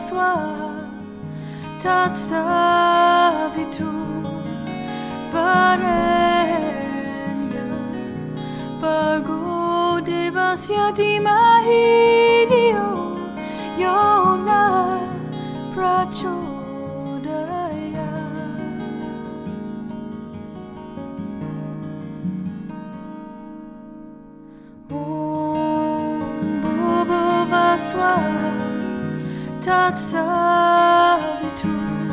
soi tatsavitur varenyo Bargo devasya dimahidio Yona prachodaya Om Bhuvasva tatsavitur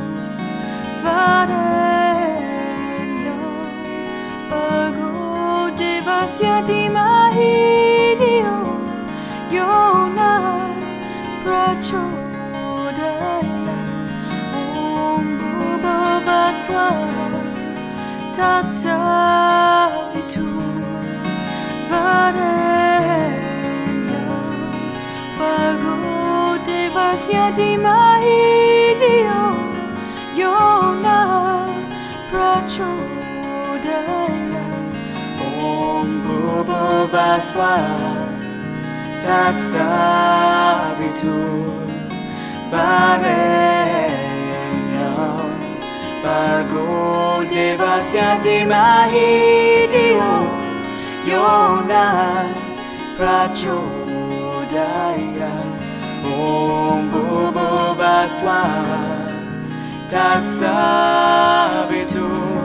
varenyo Bargo devasya dimahidio Yona prachodaya Om Bhuvasva tatsavitur varenyo Bargo devasya dimahidio Yona prachodaya Om Bhuvasva tatsavitur varenyo Bargo devasya dimahidio Yona prachodaya Om Bhuvasva tatsavitur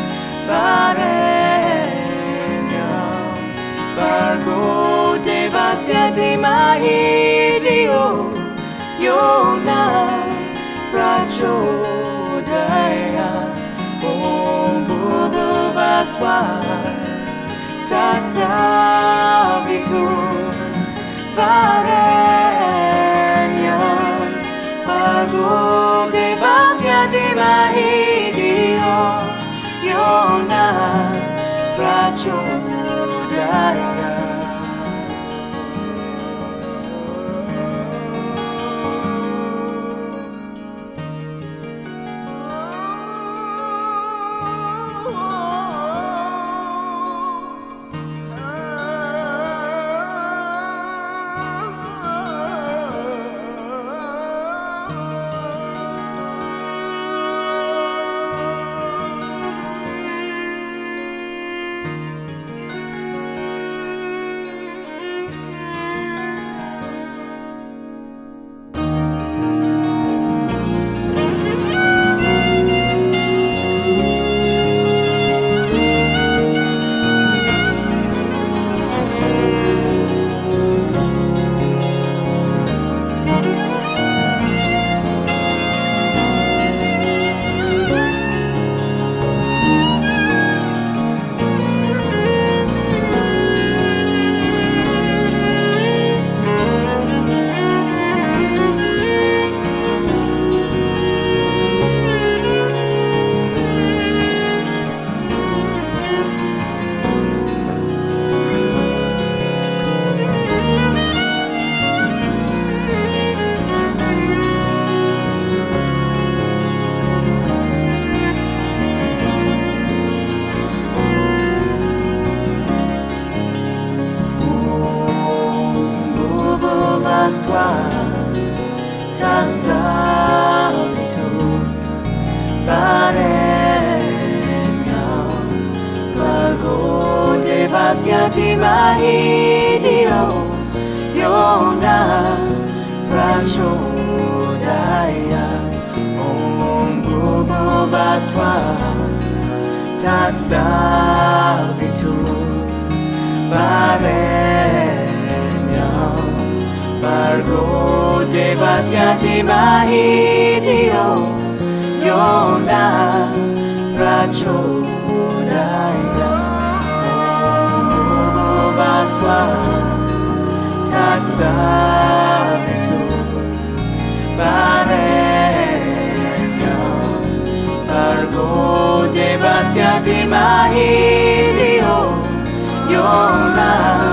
varenyo Bargo devasya dimahidio Yona prachodaya Om Bhuvasva tatsavitur varenyo Bargo devasya dimahidio Yona prachodaya tatsavitur varenyo Bargo devasya dimahidio Yona prachodaya Om Bhuvasva tatsavitur varenyo Bargo devasya dimahidio Yona prachodaya Om Bhuvasva tatsavitur varenyo Bargo devasya dimahidio Yona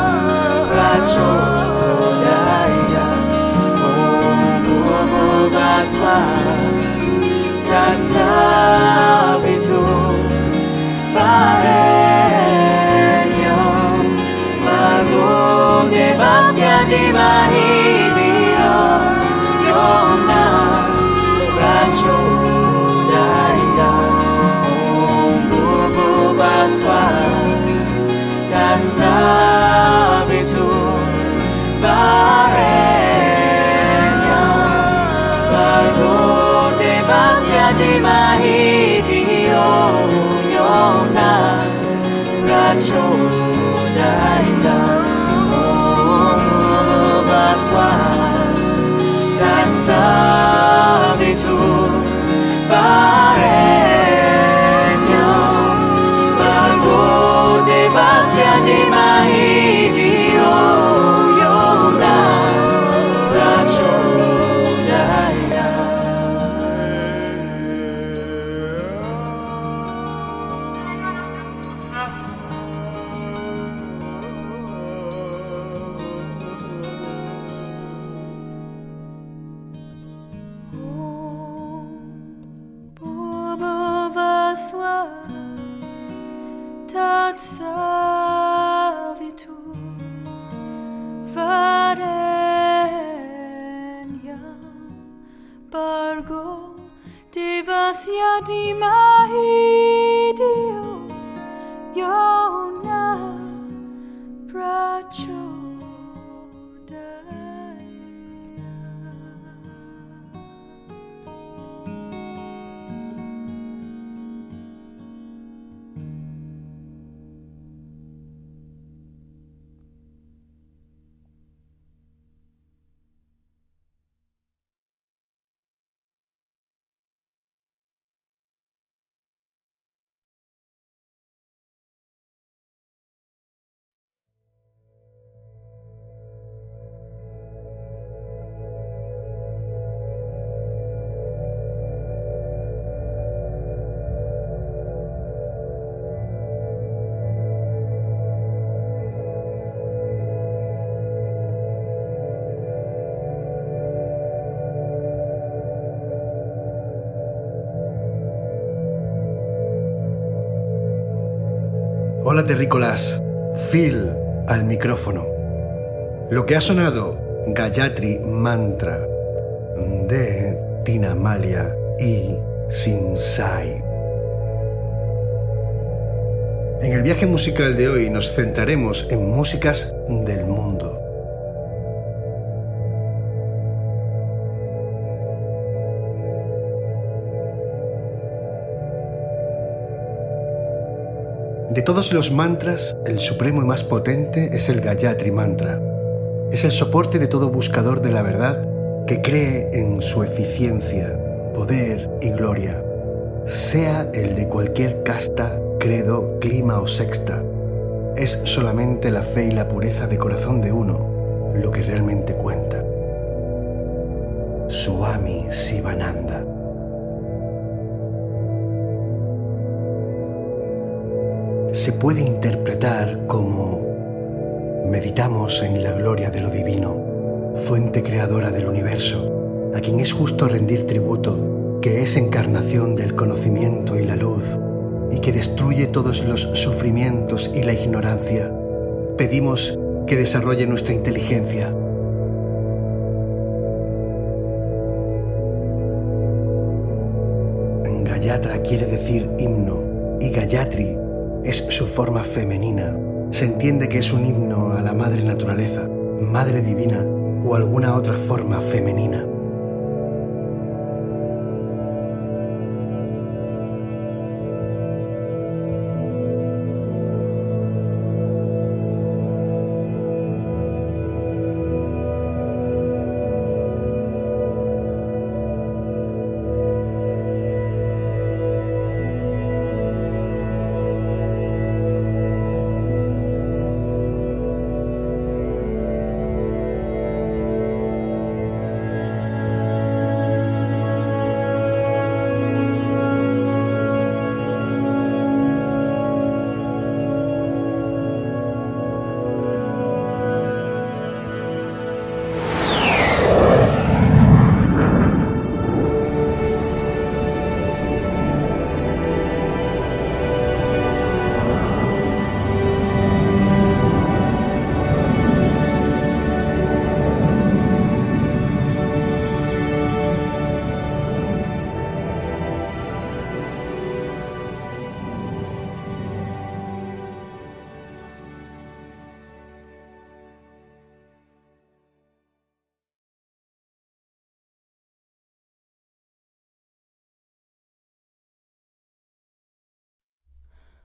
prachodaya Om Bhuvasva tatsavitur varenyo Bargo devasya dimahidio Yona di mahidio yona rachodaya baswa danza vitu paregno bargo de basia di mahidio yona rachodaya. Tatsavitu varenya bargo devasya dimahidio yona Hola terrícolas, Phil al micrófono. Lo que ha sonado, Gayatri Mantra de Tina Malia y Simsai. En el viaje musical de hoy nos centraremos en músicas del mundo. De todos los mantras, el supremo y más potente es el Gayatri Mantra. Es el soporte de todo buscador de la verdad que cree en su eficiencia, poder y gloria, sea el de cualquier casta, credo, clima o sexta. Es solamente la fe y la pureza de corazón de uno lo que realmente cuenta. Swami Sivananda. Se puede interpretar como meditamos en la gloria de lo divino, fuente creadora del universo, a quien es justo rendir tributo, que es encarnación del conocimiento y la luz, y que destruye todos los sufrimientos y la ignorancia. Pedimos que desarrolle nuestra inteligencia. Gayatra quiere decir himno, y Gayatri es su forma femenina. Se entiende que es un himno a la madre naturaleza, madre divina o alguna otra forma femenina.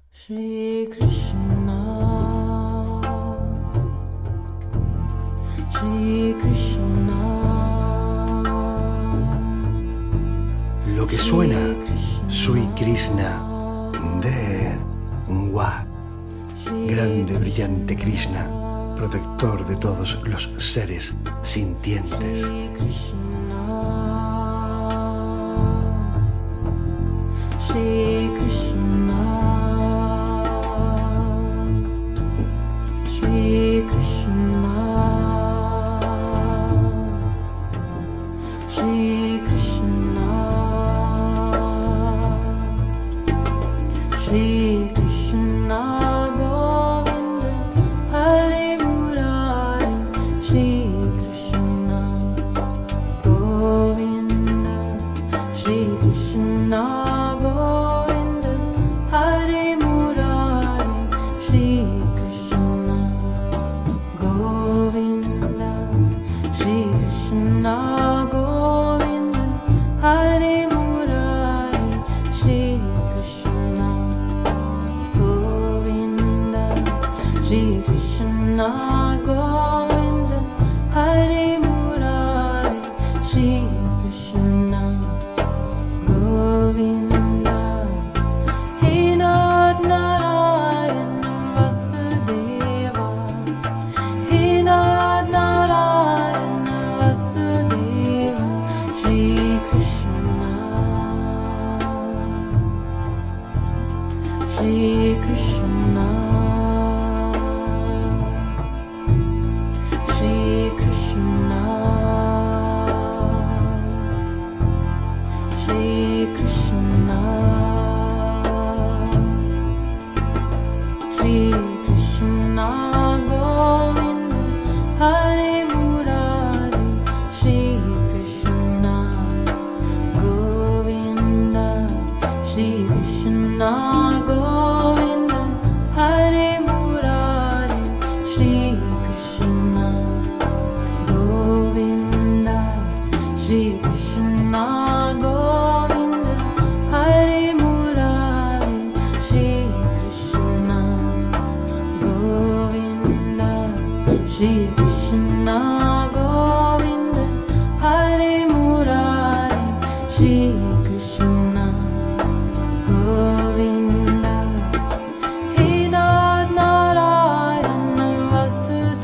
Shri Krishna, Shri Krishna. Lo que suena, Sri Krishna de Wa, grande, brillante Krishna, protector de todos los seres sintientes. Shri Krishna, Shri Krishna, Shri Krishna, Shri Krishna, Govinda, Hare Murari, Shri Krishna, Govinda, Shri Krishna.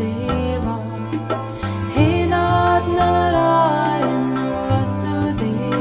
Vasudeva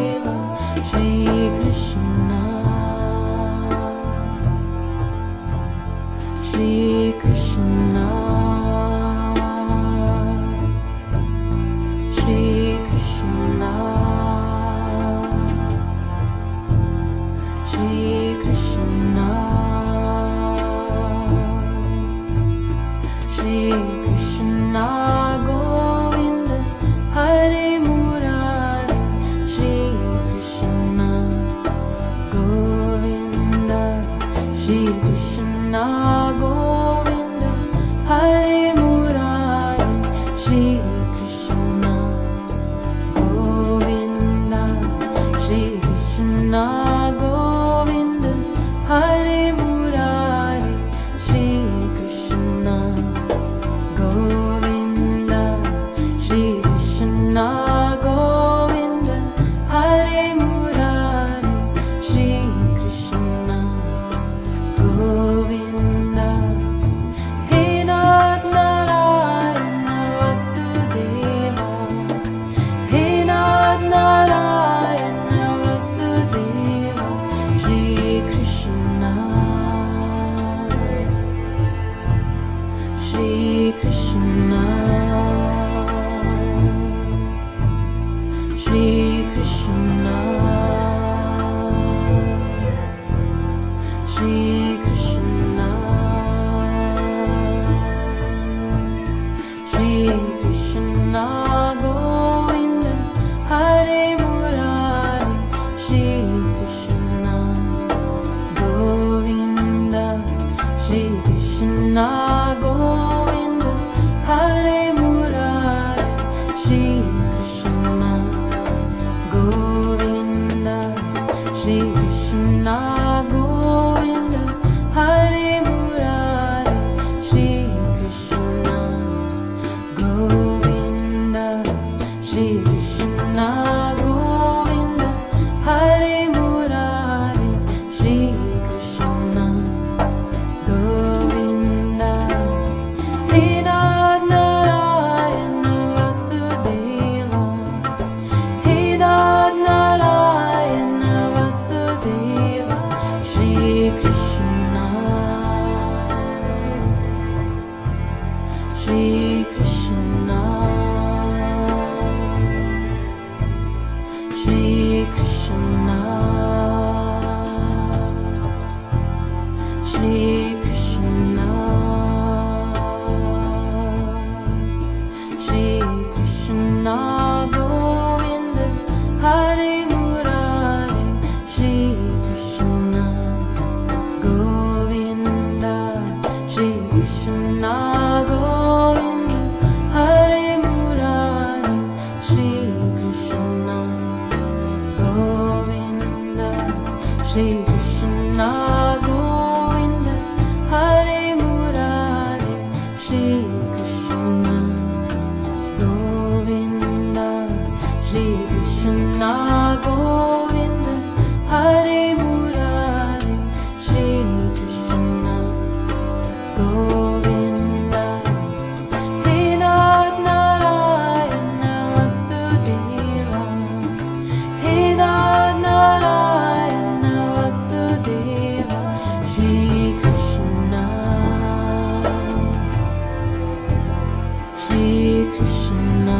Krishna, Shri Krishna, Shri Krishna, Govinda, Hare Murari, Shri Krishna, Govinda, Shri Krishna, Govinda, Hare Murari, Shri Krishna, Govinda, Shri Krishna, Govinda, Hare Murari, Shri Krishna, Govinda, Shri Krishna, Govinda, Hare Murari, Shri Krishna, Govinda, He Nath Narayana Vasudeva, He Nath Narayana Vasudeva, Shri Krishna, Shri Krishna,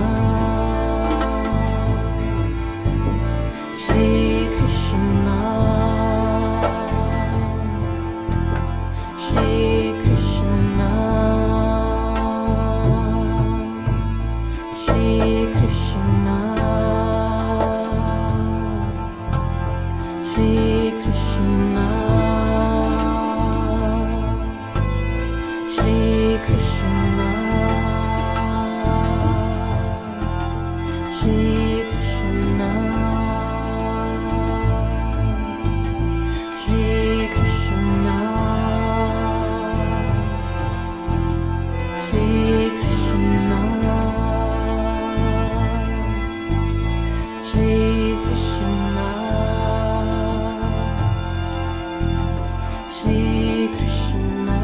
Shri Krishna, Shri Krishna, Shri Krishna, Shri Krishna, Shri Krishna, Shri Krishna, Shri Krishna, Shri Krishna, Shri Krishna, Shri Krishna.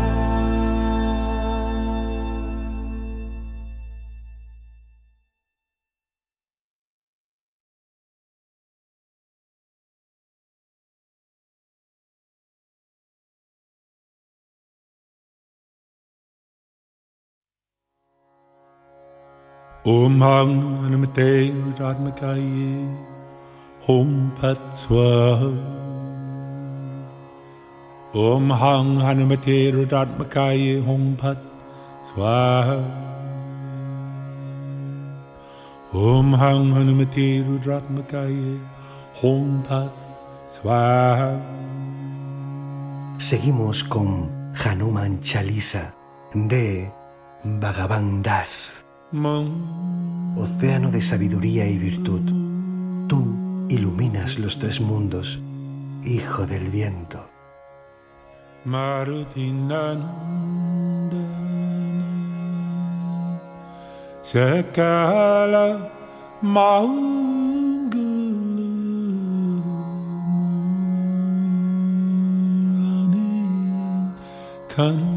Om Hang Hanumate Radmakaye Hom Pat Swaha. Om Hang Hanumate Radmakaye Hom Pat Swaha. Om Hang Hanumate Radmakaye Hom Pat Swaha. Seguimos con Hanuman Chalisa de Bhagavan Das. Océano de sabiduría y virtud, tú iluminas los tres mundos, hijo del viento. Marutinandana Sakala Mangalamulani Kandana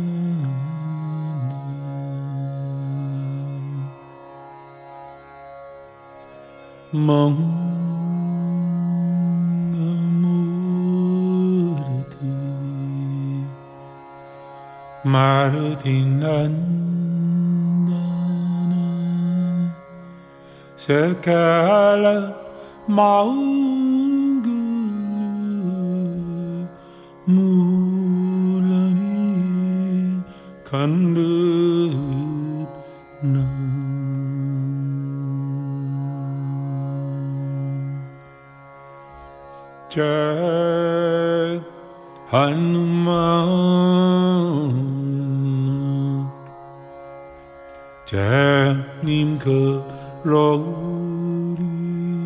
Mangalamurti Marutinandana Sakala Mangalamulani Kandana Jai Hanuman Jai Nimka Rori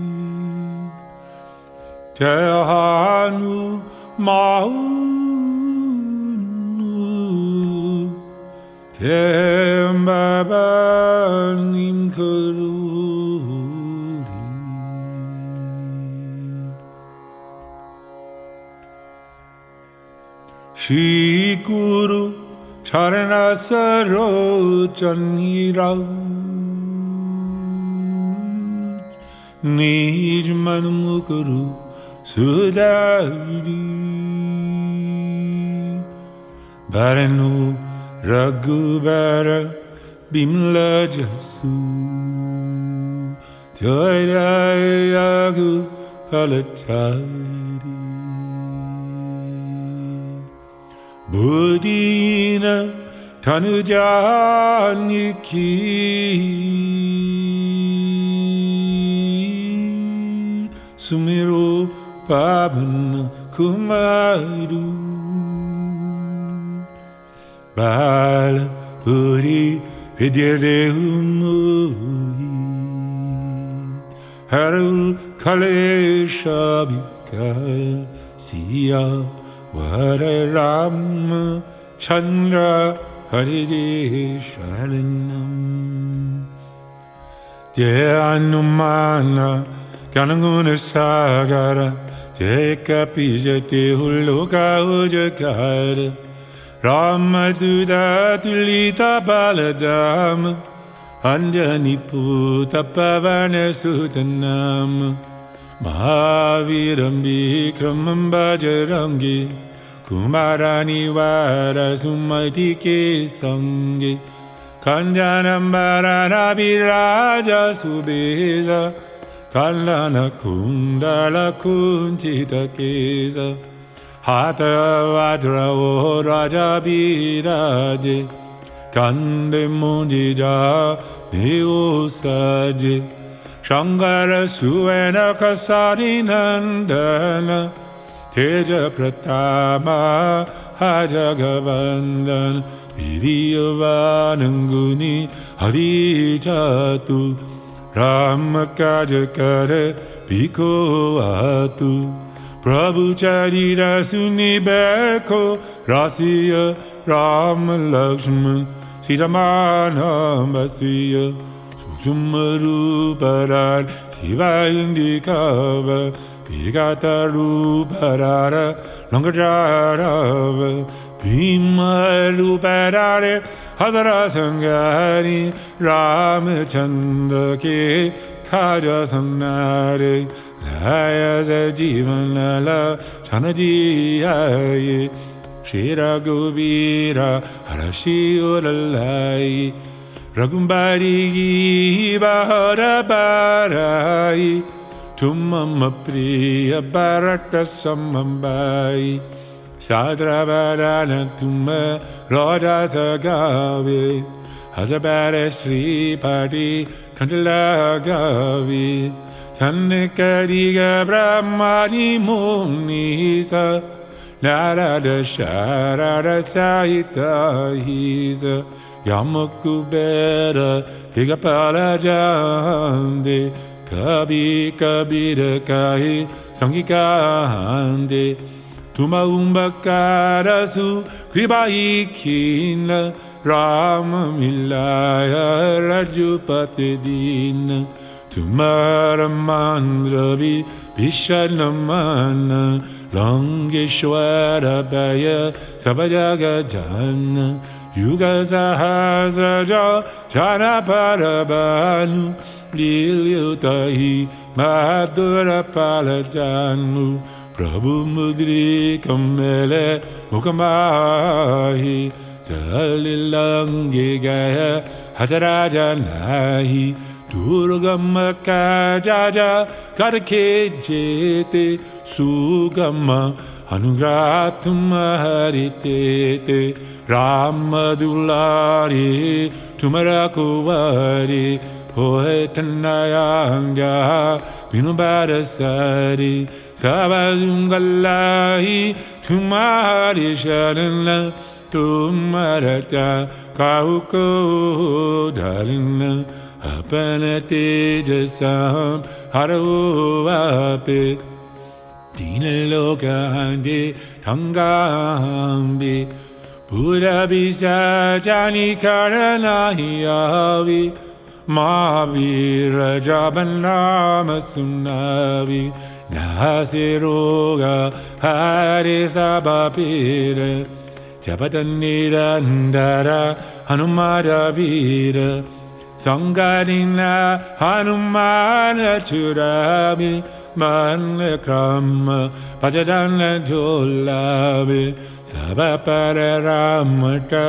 Jai Hanuman Jai Baba Nimka Rori Shri Guru Charana Sarojani Raj Nij Manmukuru Sudari Baranu Raghubara Bimla Jasu Jaya palachari Budina tanujaniki Sumiro pavana kumaru Bala puri vidyadehumui Harul kaleshabika siya Vare Rama Chandra Paridesharanam Jaya Anumana Gananguna Sagara Jaya Kapijate Hulloka Ujakara Rama Duda Tulita Baladama Anjani Puta Pavana Sutanam Mahaviram Vikramam Bajarangi Kumarani Vara Sumatike Sangi Kanjanam Varana Viraja Subeza Kalana Kundala Kunchita Kesa Hata Vajra O Raja Viraje Kande Munjija Neo Saje Shankara Suvena Kasari Nandana Teja Pratama Hajagavandana Vidyavananguni Hadijatu Ramakajakare Biko Atu Prabhu Charira Sunibeko Rasiya Rama Lakshman Sitamana Basiya Sumaruparar Sivayindikava Vigataruparara Langajarava Bhimaruparare Hazara Sangari Ramachandra Ke Kaja Sanare Laya Jivanala Chanajiyaye Shira Govira Harashi Uralai Ragumbari Bahara Barai Tumama Priya Bharata Samambai Sadra Varana Tuma Roda Sagave Hazabara Sri Padi Kandala Gavi Sannikariga Brahmani Munisa Narada Sharada Sahita Hisa Yamakubera Higapala Jande Kabi Kabira Kahi Sangikahande Tuma Umbakarasu Kribaikina Rama Milaya Rajupati Dina Tumara Mandravi Vishanamana Langeshwara Baya Sabajaga Jana Yuga Sahasraja Jana Parabanu Lilyutahi Madhura Palajanu Prabhu Mudri Kamele Mukamahi Jalilangi Gaya Hataraja Nahi Durgama Kajaja Karake Jete Sugama Anugrathuma Haritete Ramadulari Tumarakuvari Poetanayanga Vinubarasari Savazungalahi Tumari Sharana Tumarata Kauko Darina Apana Tejasam Harawape Dinalokahande Tangambi Buddha Bisajani Karanahiyavi Mahavira Jabanama Sunavi Nasiroga Hare Sabapira Japatanirandara Hanumara Vira Sangarina Hanumana Churabi Manakrama Pajadana Jolabi Sabapara Ramata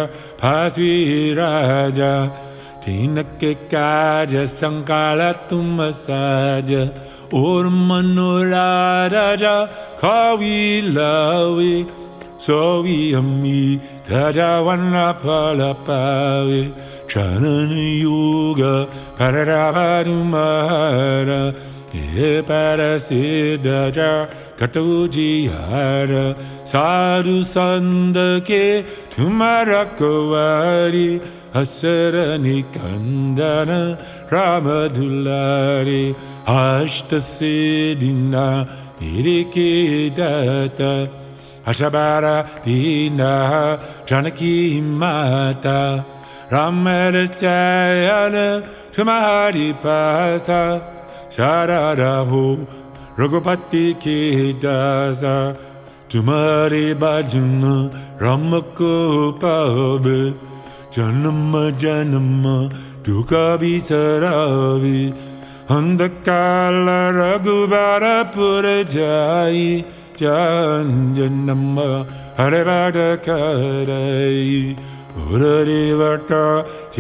Pasviraja Tinake Kaja Sankala Tumasaja Ormanuradaja Kawilawe Sovi Ami Dajawana Palapawe Chanana Yoga Paradavadumara E Parasidaja Katujihara Sadhu Sandake Tumarakovadi Asarani Kandana Ramadulari Ashtasidina Nirikidata Ashabara Dina Janaki Mata Ramadachayana Tumahari Pasa Sharadahu Raghupati Kidasa Tumari Bhajana Ramakopabe Janama Janama Dukkha Visaravi Andakala Raghubara Purajai Janjanama Harevada Karai Uradivata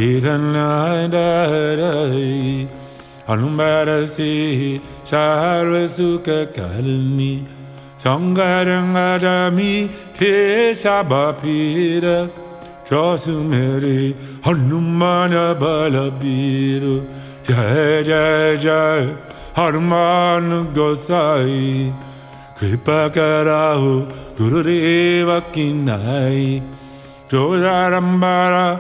Chidanadarai Anumbarasi Sarvasuka Kalini Sangarangadami Tesabapira Josumeri Hanumana Balabiru Jai Jai Jai Hanuman Gosai Kripakarahu Gurudeva Kinai Jodarambara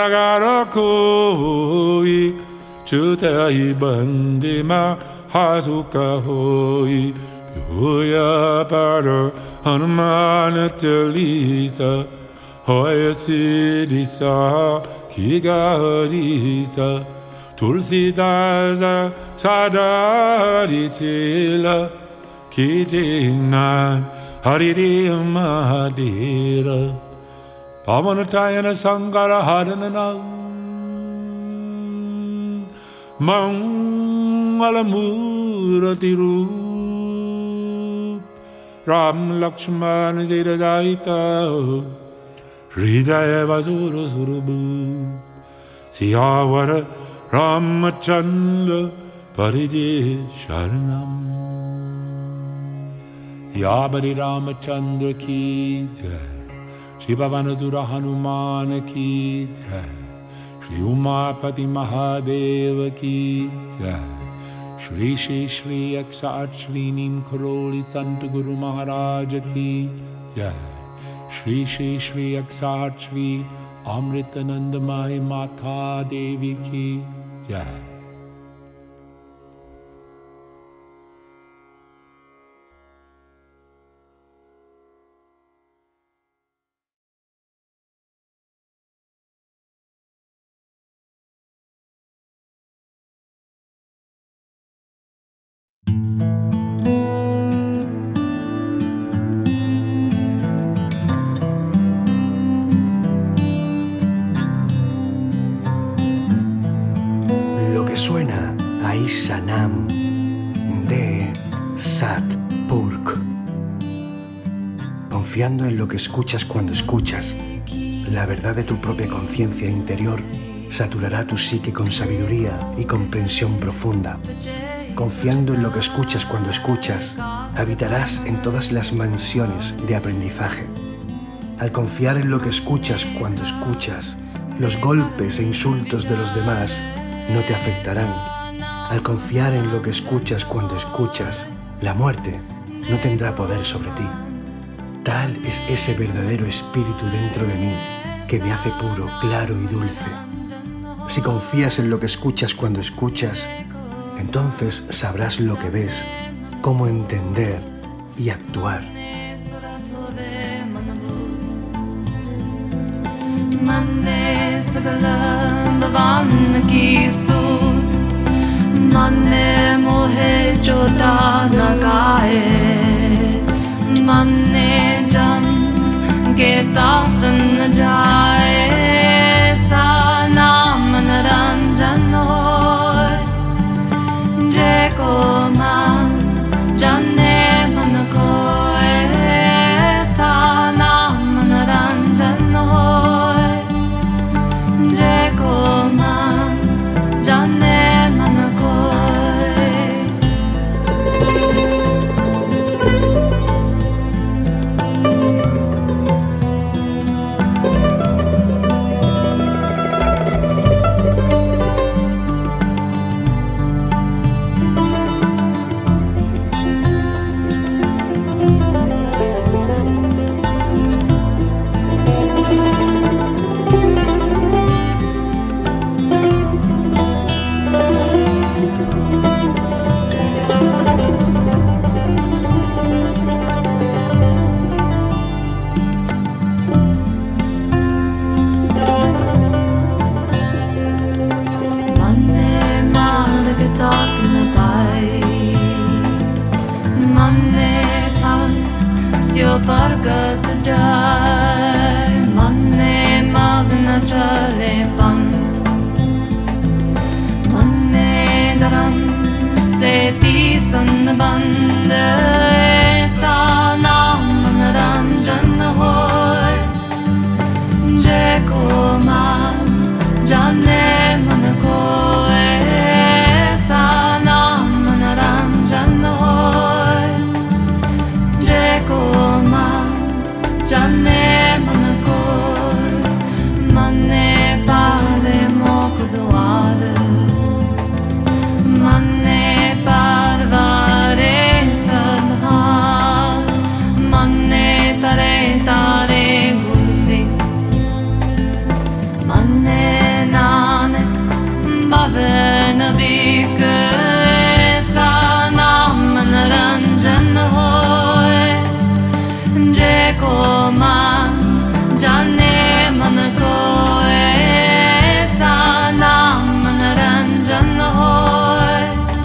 Paragarakoi Chutai Bandima Hasuka Hoi Yoya Para Hanumana Chalisa Hoya Siddhisa Kigarisa Tulsidasa Sadari Chila Kijina Hariri Mahadira Pavanatayana Sangara Haranana Mangalamurati Rup Ram Lakshmana Jidadaita Hridaya Vasura Surabu Siyavara Ramachandra Parije Sharanam Siyabari Ramachandra Ki Jai Shri Bhavanadura Hanuman Ki Jai Shri Umapati Mahadeva Ki Jai Shri Shri Shri Akshat Shri Neem Karoli Sant Guru Maharaj Ki Jai Shri Shri Shri Akshat Shri Amritanandamayi Mata Devi Ki Jai. Suena a Isanam de Sat Purk. Confiando en lo que escuchas cuando escuchas, la verdad de tu propia conciencia interior saturará tu psique con sabiduría y comprensión profunda. Confiando en lo que escuchas cuando escuchas, habitarás en todas las mansiones de aprendizaje. Al confiar en lo que escuchas cuando escuchas, los golpes e insultos de los demás no te afectarán. Al confiar en lo que escuchas cuando escuchas, la muerte no tendrá poder sobre ti. Tal es ese verdadero espíritu dentro de mí que me hace puro, claro y dulce. Si confías en lo que escuchas cuando escuchas, entonces sabrás lo que ves, cómo entender y actuar. Manne sagalam bhavan ki sud Manne mohe jota nagaye Manne jam ke saath n jaye Sa naam naranjan hoy Je ko man janne man koye Sa naam naranjan hoy Syo Pargat Jai Manne Magna Chale Pant Manne Dharam Seti Sannabande Sanam Manaranjan Hoy Jeko Man Jane Manako Sanam Manaranjan Hoy Jeko Man Jane Manako Manne Pale Mokdoare Manne Parvare Sadha Manne Tare Tare Gusi Manne Nanak Bhavana Bhikhe Sanam Manaranjan Hoy Jeko Man Jane Manako Sanam Manaranjan Hoy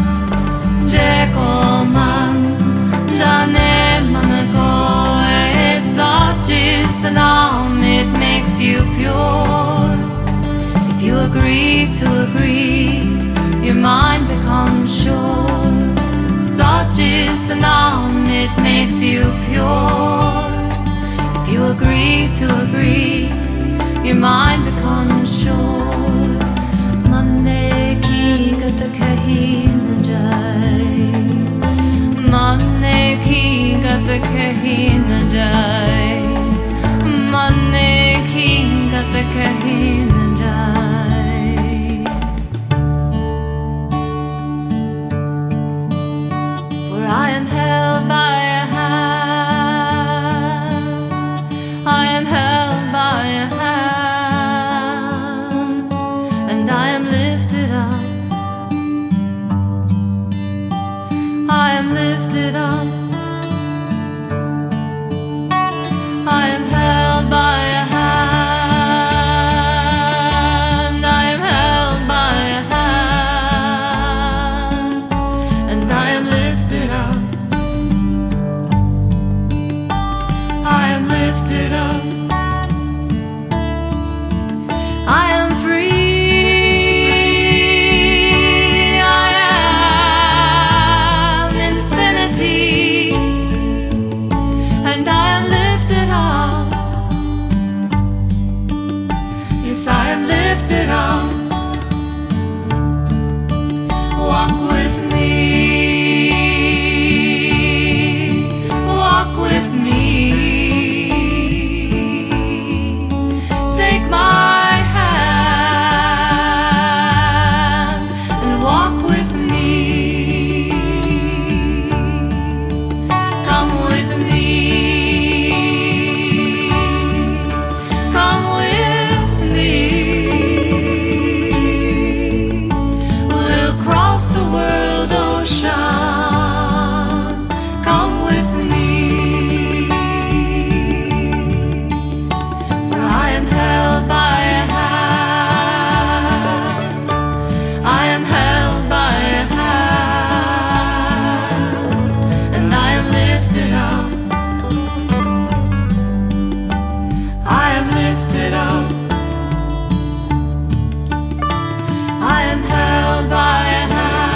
Jeko Man Jane Manako such is the Nam, it makes you pure. If you agree to agree, your mind becomes sure. Such is the Nam, it makes you pure. If you agree to agree, your mind becomes sure. Manne ki gat kahi na jai, manne ki gat kahi na jai, manne ki gat kahi na jai. For I am held by a hand, I am held by a hand, and I am lifted up, I am lifted up, I am held by a hand, I am held by a hand, and I am lifted up, I am lifted up, I am free, I am infinity, and I am lifted up, yes, I am lifted up. Walk with me, walk with me, take my hand and walk with me, come with me, come with me, we'll cross the world ocean, come with me, for I am held by a hand, I am held by a hand, and I am lifted up, I am lifted up, I am held by a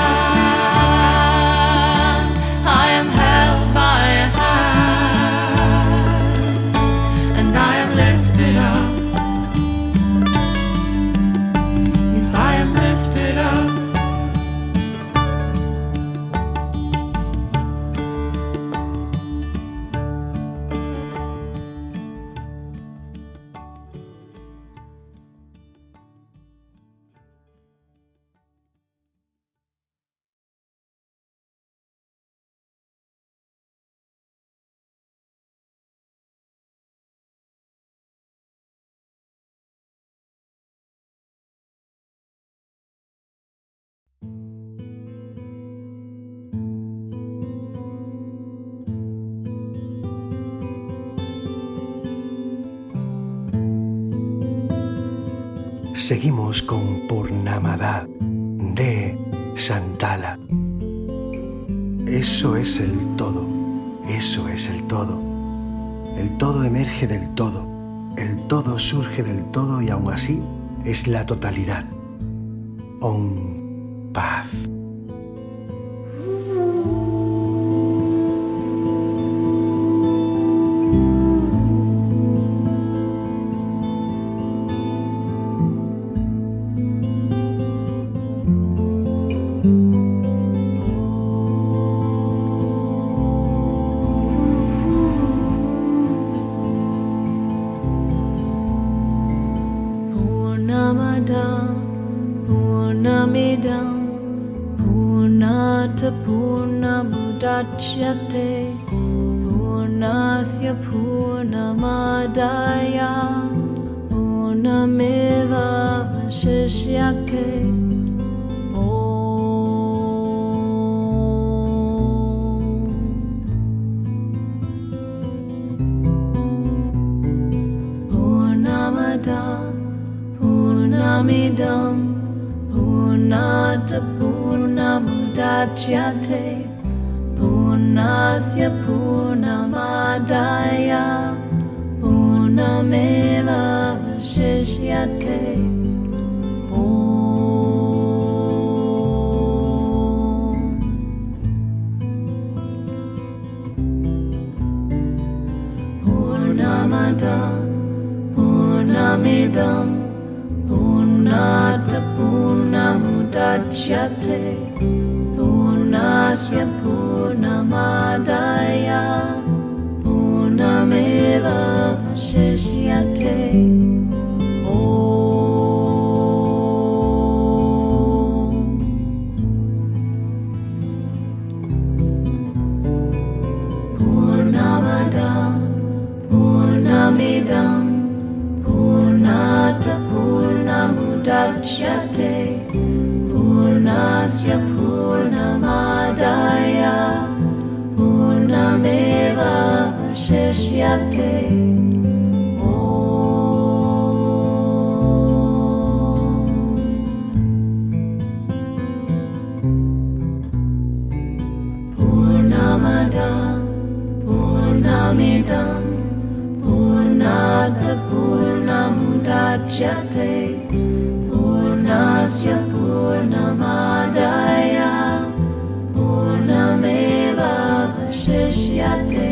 hand, I am held by a hand, and I am lifted up, yes, I am lifted up. Seguimos con Purnamada de Santala. Eso es el todo, eso es el todo. El todo emerge del todo. El todo surge del todo y aún así es la totalidad. Om, paz. Purnamidam Purnata Purnamudachyate Purnasya Purnamadaya Purnameva Vashishyate Purnamidam Purnata Purnamudachyate Purnasya Purnamadaya Purnameva Vashishyate Purnamidam Purnata Purnamudachyate Purnasya Purnamadaya Purnameva Vashishyate Purnamidam Purnata Purnamudachyate Purnasya Purnamadaya Purnameva Vashishyate Purnamidam Purnata Purnamudachyate Purnasya Purnamadaya Purnameva Vashishyate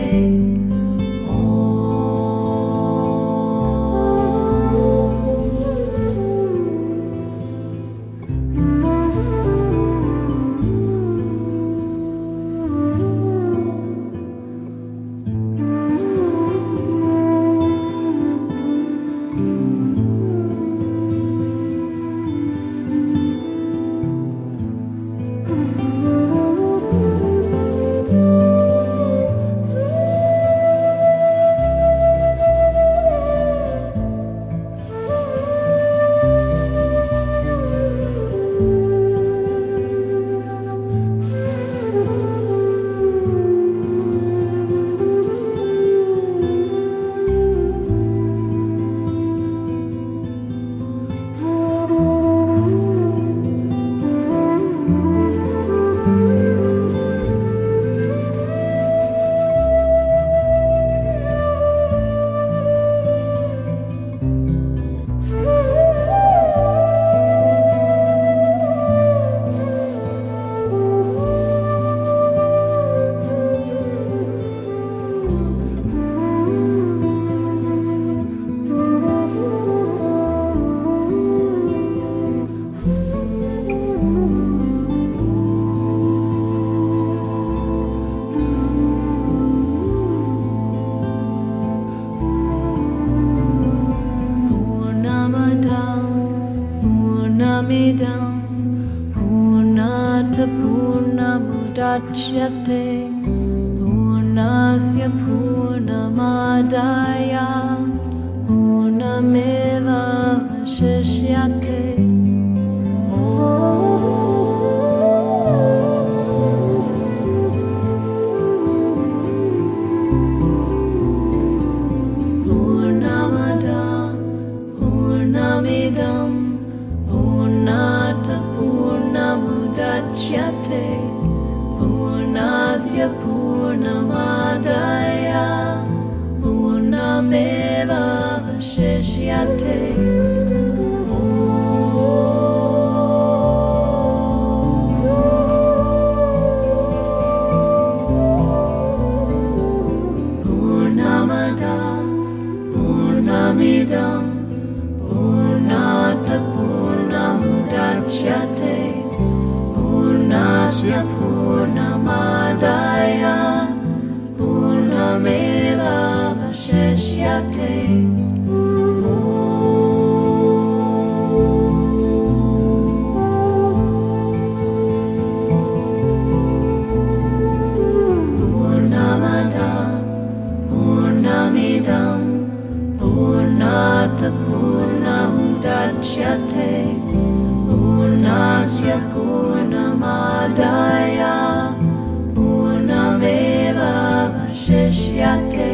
Purnamidam Purnata Purnamudachyate Purnasya Purnamadaya Purnameva Vashishyate Purnamidam Purnata Purnamudachyate Purnasya Purnamadaya Purnameva Purnasya Purnamadaya Purnameva Vashishyate.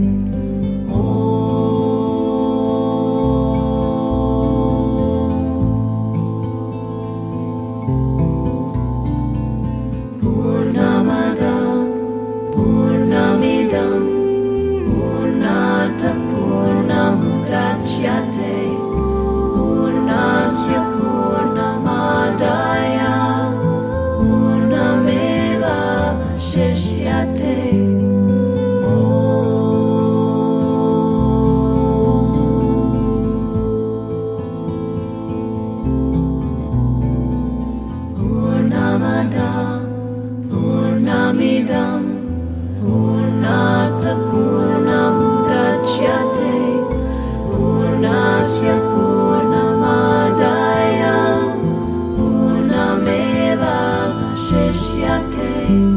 Purnamada Purnamidam Purnata Purnamudachyate Purnasya Purnamadaya Purnameva Vashishyate. Purnamada Purnamidam Purnata Purnamudachyate Purnasya Purnamadaya Purnameva Vashishyate.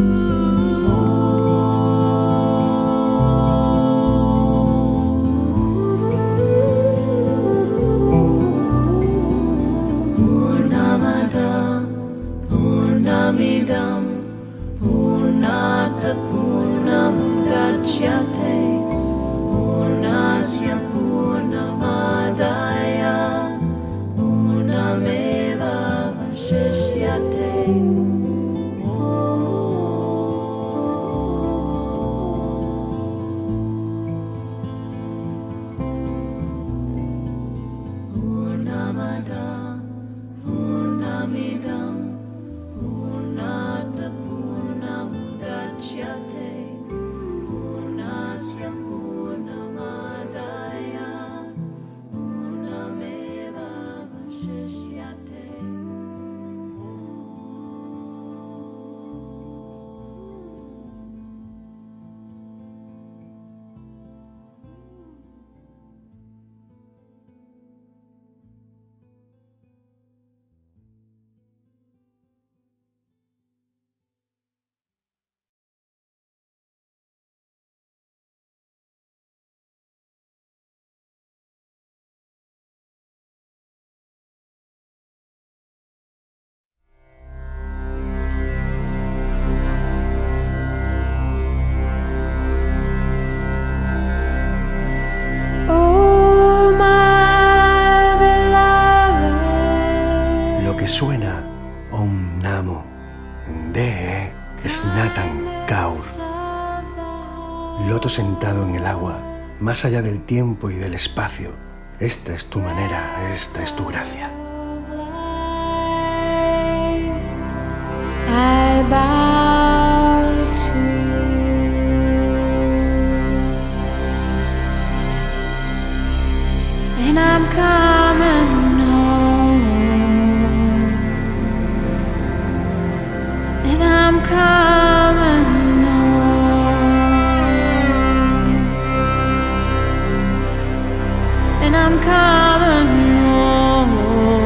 Purnamada Purnamidam Purnata Purnamudachyate Purnasya Purnamadaya Purnameva Vashishyate. Purnamada Purnamidam Purnata Purnamudachyate Purnasya Purnamadaya Purnameva Vashishyate. Oh, my beloved. Lo que suena Om Namo De Snatan Kaur. Loto sentado en el agua, más allá del tiempo y del espacio. Esta es tu manera, esta es tu gracia. I bow to you, and I'm coming home, and I'm coming home, and I'm coming home.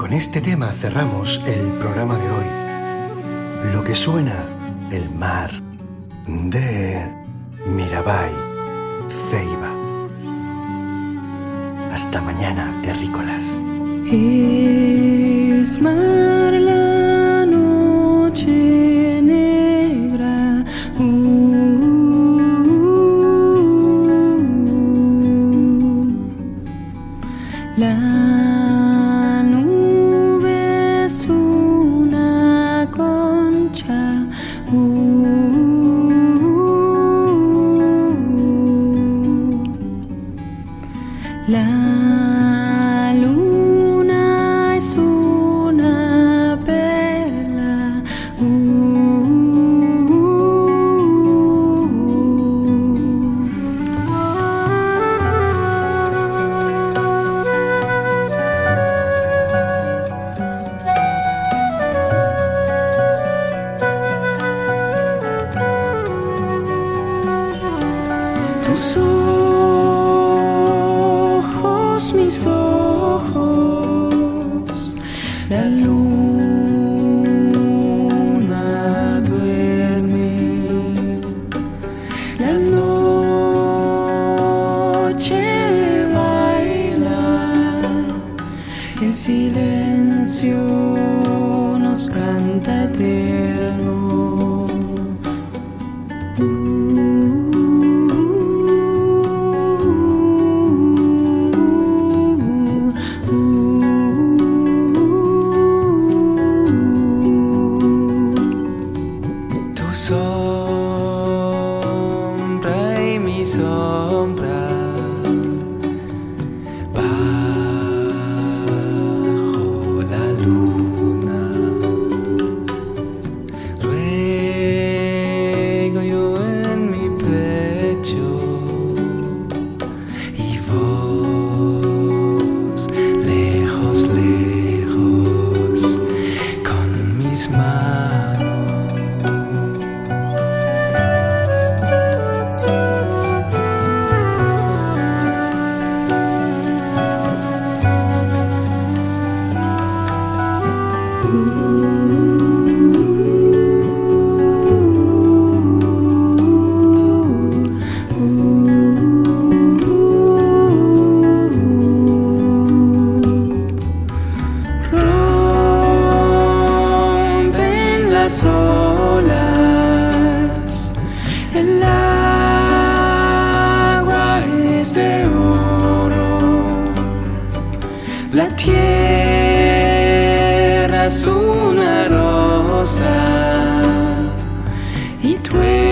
con este tema cerramos el programa de hoy. Lo que suena, el mar, de Mirabai Ceiba. Hasta mañana, terrícolas. Es mar la noche negra. La nube es una concha. La luna es una perla. Tus ojos, mis ojos, la luna duerme, la noche baila, el silencio nos canta eterno. Sombra y mi sombra bajo la luna, ruego yo en mi pecho y vos lejos, lejos con mis manos. Rompen las olas, el agua es de oro, la tierra es una rosa y tú